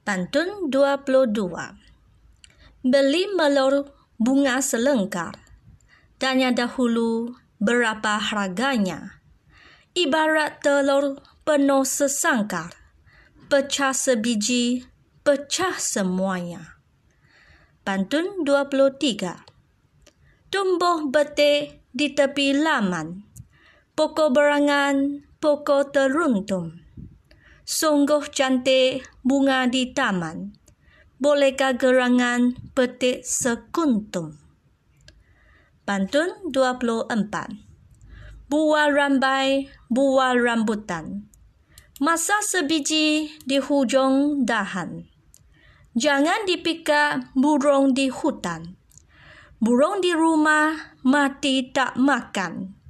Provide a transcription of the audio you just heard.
Pantun 22. Beli melur bunga selengkar. Tanya dahulu berapa harganya. Ibarat telur penuh sesangkar. Pecah sebiji, pecah semuanya. Pantun 23. Tumbuh betik di tepi laman. Pokok berangan, pokok teruntum. Sungguh cantik bunga di taman. Bolehkah gerangan petik sekuntum? Pantun 24. Buah rambai, buah rambutan. Masa sebiji di hujung dahan. Jangan dipikak burung di hutan. Burung di rumah mati tak makan.